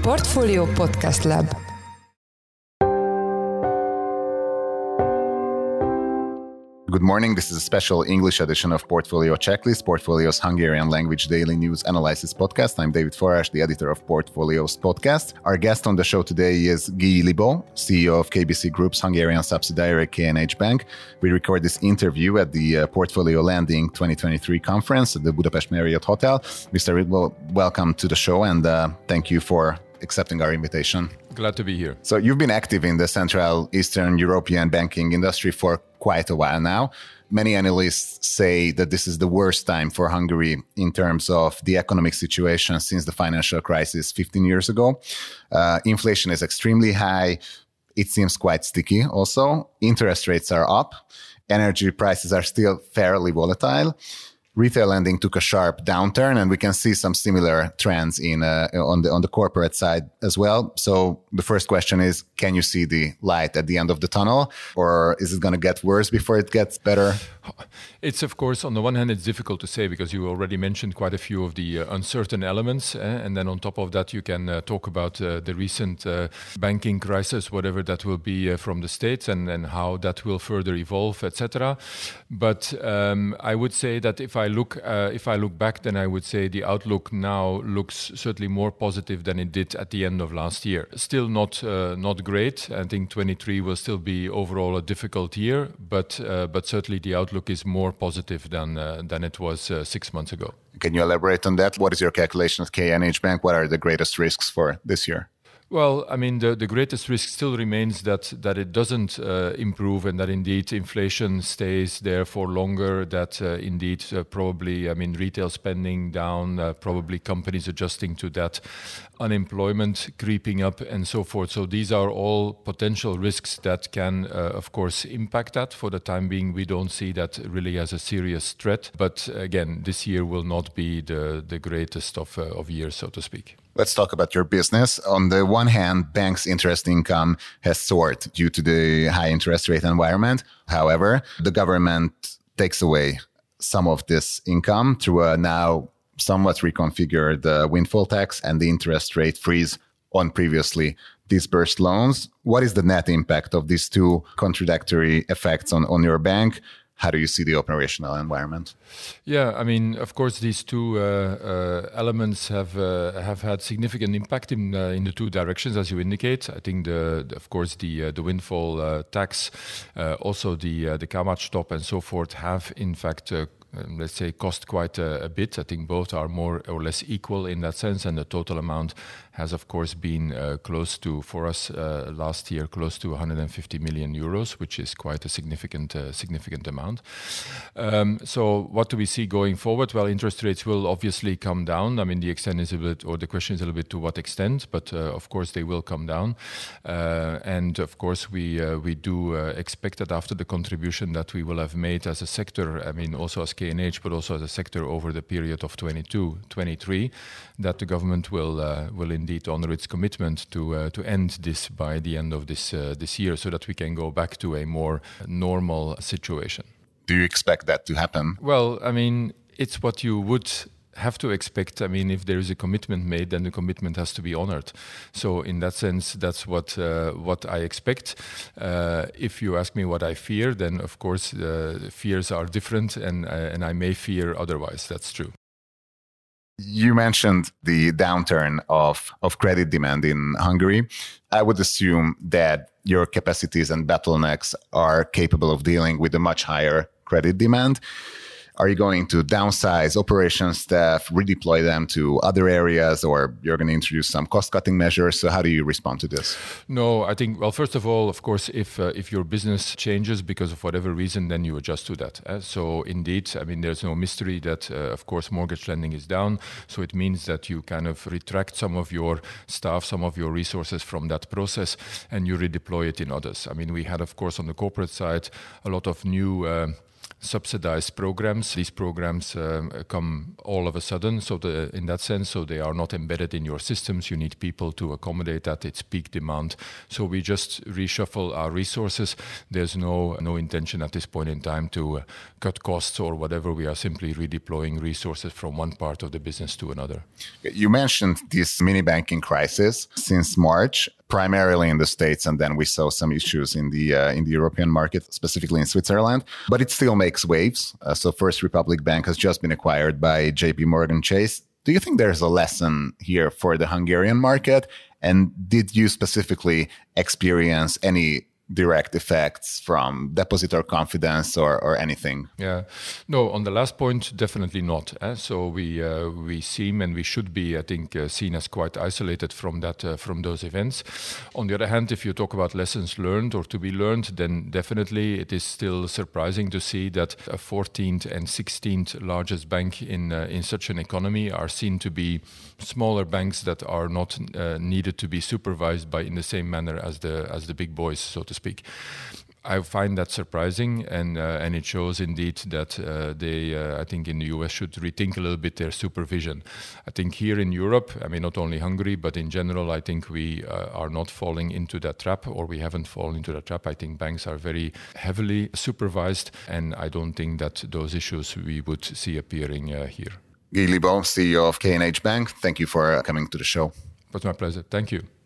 Portfolio Podcast Lab. Good morning. This is a special English edition of Portfolio Checklist, Portfolio's Hungarian language daily news analysis podcast. I'm David Forrás, the editor of Portfolio's podcast. Our guest on the show today is Guy Libó, CEO of KBC Group's Hungarian subsidiary KNH Bank. We record this interview at the Portfolio Landing 2023 conference at the Budapest Marriott Hotel. Mr. Libó, welcome to the show and thank you for accepting our invitation. Glad to be here. So you've been active in the Central Eastern European banking industry for quite a while now. Many analysts say that this is the worst time for Hungary in terms of the economic situation since the financial crisis 15 years ago. Inflation is extremely high. It seems quite sticky also. Interest rates are up. Energy prices are still fairly volatile. Retail lending took a sharp downturn, and we can see some similar trends on the corporate side as well. So the first question is, can you see the light at the end of the tunnel, or is it going to get worse before it gets better? It's, of course, on the one hand, it's difficult to say because you already mentioned quite a few of the uncertain elements. And then on top of that, you can talk about the recent banking crisis, whatever that will be from the States and how that will further evolve, etc. But I would say that if I look back, then I would say the outlook now looks certainly more positive than it did at the end of last year. Still not great. I think 23 will still be overall a difficult year, but certainly the outlook is more positive than it was 6 months ago. Can you elaborate on that? What is your calculation of KNH Bank? What are the greatest risks for this year? Well, I mean, the greatest risk still remains that it doesn't improve and that indeed inflation stays there for longer, that indeed probably, I mean, retail spending down, probably companies adjusting to that, unemployment creeping up and so forth. So these are all potential risks that can, of course, impact that. For the time being, we don't see that really as a serious threat. But again, this year will not be the greatest of years, so to speak. Let's talk about your business. On the one hand, banks' interest income has soared due to the high interest rate environment. However, the government takes away some of this income through a now somewhat reconfigured windfall tax and the interest rate freeze on previously disbursed loans. What is the net impact of these two contradictory effects on your bank? How do you see the operational environment? Yeah, I mean, of course, these two elements have had significant impact in the two directions, as you indicate. I think, of course, the windfall tax, also the Kamatstop and so forth, have in fact let's say cost quite a bit. I think both are more or less equal in that sense, and the total amount has of course been close to, for us last year, close to 150 million euros, which is quite a significant amount. So what do we see going forward? Well, interest rates will obviously come down. I mean, the extent is a bit, or the question is a little bit to what extent, but of course they will come down. And of course we do expect that after the contribution that we will have made as a sector, I mean also as KNH, but also as a sector over the period of 22-23, that the government will indeed honor its commitment to end this by the end of this year, so that we can go back to a more normal situation. Do you expect that to happen? Well, I mean, it's what you would have to expect. I mean, if there is a commitment made, then the commitment has to be honored. So in that sense, that's what I expect. If you ask me what I fear, then of course fears are different, and I may fear otherwise. That's true. You mentioned the downturn of credit demand in Hungary. I would assume that your capacities and bottlenecks are capable of dealing with a much higher credit demand. Are you going to downsize operations staff, redeploy them to other areas, or you're going to introduce some cost-cutting measures? So how do you respond to this? No, I think, well, first of all, of course, if your business changes because of whatever reason, then you adjust to that. So indeed, I mean, there's no mystery that, of course, mortgage lending is down. So it means that you kind of retract some of your staff, some of your resources from that process, and you redeploy it in others. I mean, we had, of course, on the corporate side, a lot of new subsidized programs. These programs come all of a sudden, so in that sense, so they are not embedded in your systems. You need people to accommodate that. It's peak demand. So we just reshuffle our resources. There's no intention at this point in time to cut costs or whatever. We are simply redeploying resources from one part of the business to another. You mentioned this mini banking crisis since March, primarily in the States, and then we saw some issues in the European market, specifically in Switzerland. But it still makes waves. So First Republic Bank has just been acquired by JP Morgan Chase. Do you think there's a lesson here for the Hungarian market? And did you specifically experience any direct effects from depositor confidence or anything? Yeah, no, on the last point, definitely not. So we seem and we should be, I think, seen as quite isolated from those events. On the other hand, if you talk about lessons learned or to be learned, then definitely it is still surprising to see that a 14th and 16th largest bank in such an economy are seen to be smaller banks that are not needed to be supervised in the same manner as the big boys, so to speak. I find that surprising, and it shows indeed that I think in the US should rethink a little bit their supervision. I think here in Europe, I mean not only Hungary, but in general, I think we are not falling into that trap, or we haven't fallen into that trap. I think banks are very heavily supervised, and I don't think that those issues we would see appearing here. Guy Libaud, CEO of K&H Bank, thank you for coming to the show. It was my pleasure. Thank you.